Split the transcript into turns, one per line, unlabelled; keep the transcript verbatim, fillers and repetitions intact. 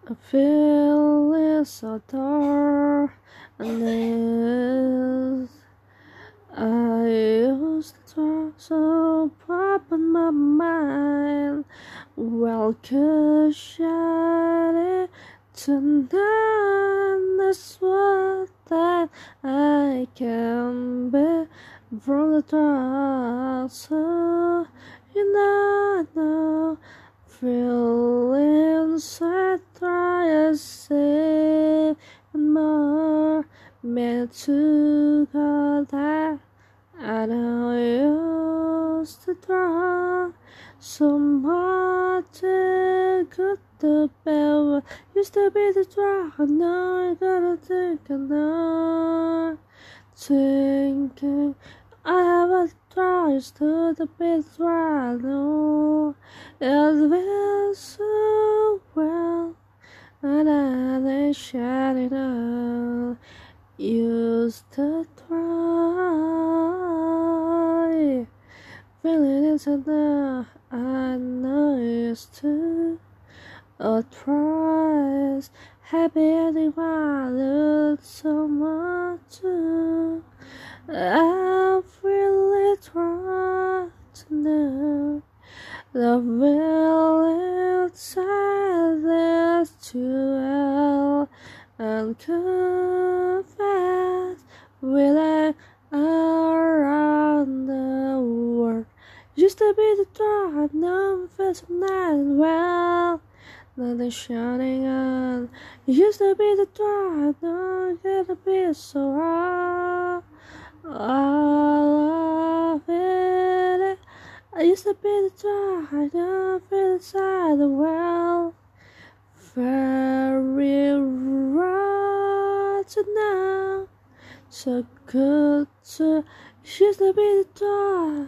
I feel it so dark and this I used to try so pop in my mind. Well, could shut it tonight. That's what that I can be from the dark. So you know, know feel inside, try to save and more meant to go that. I know I used to try so much good the bell used to be the drug. Now I gotta think another thinking I have a try to the bit right now. It feels so well and I shut it out. Used to try, feeling it now. I know it's too. A tries, happy ending my look so much too. I really try to know the will inside this too well and confess willing around the world. Used to be the dark, now feels night well. Now they're shining on. Used to be the dark, now I gotta be so hard. I love it. I used to be the dark, I now feel inside the well. Very right now, so good to used to be the dark.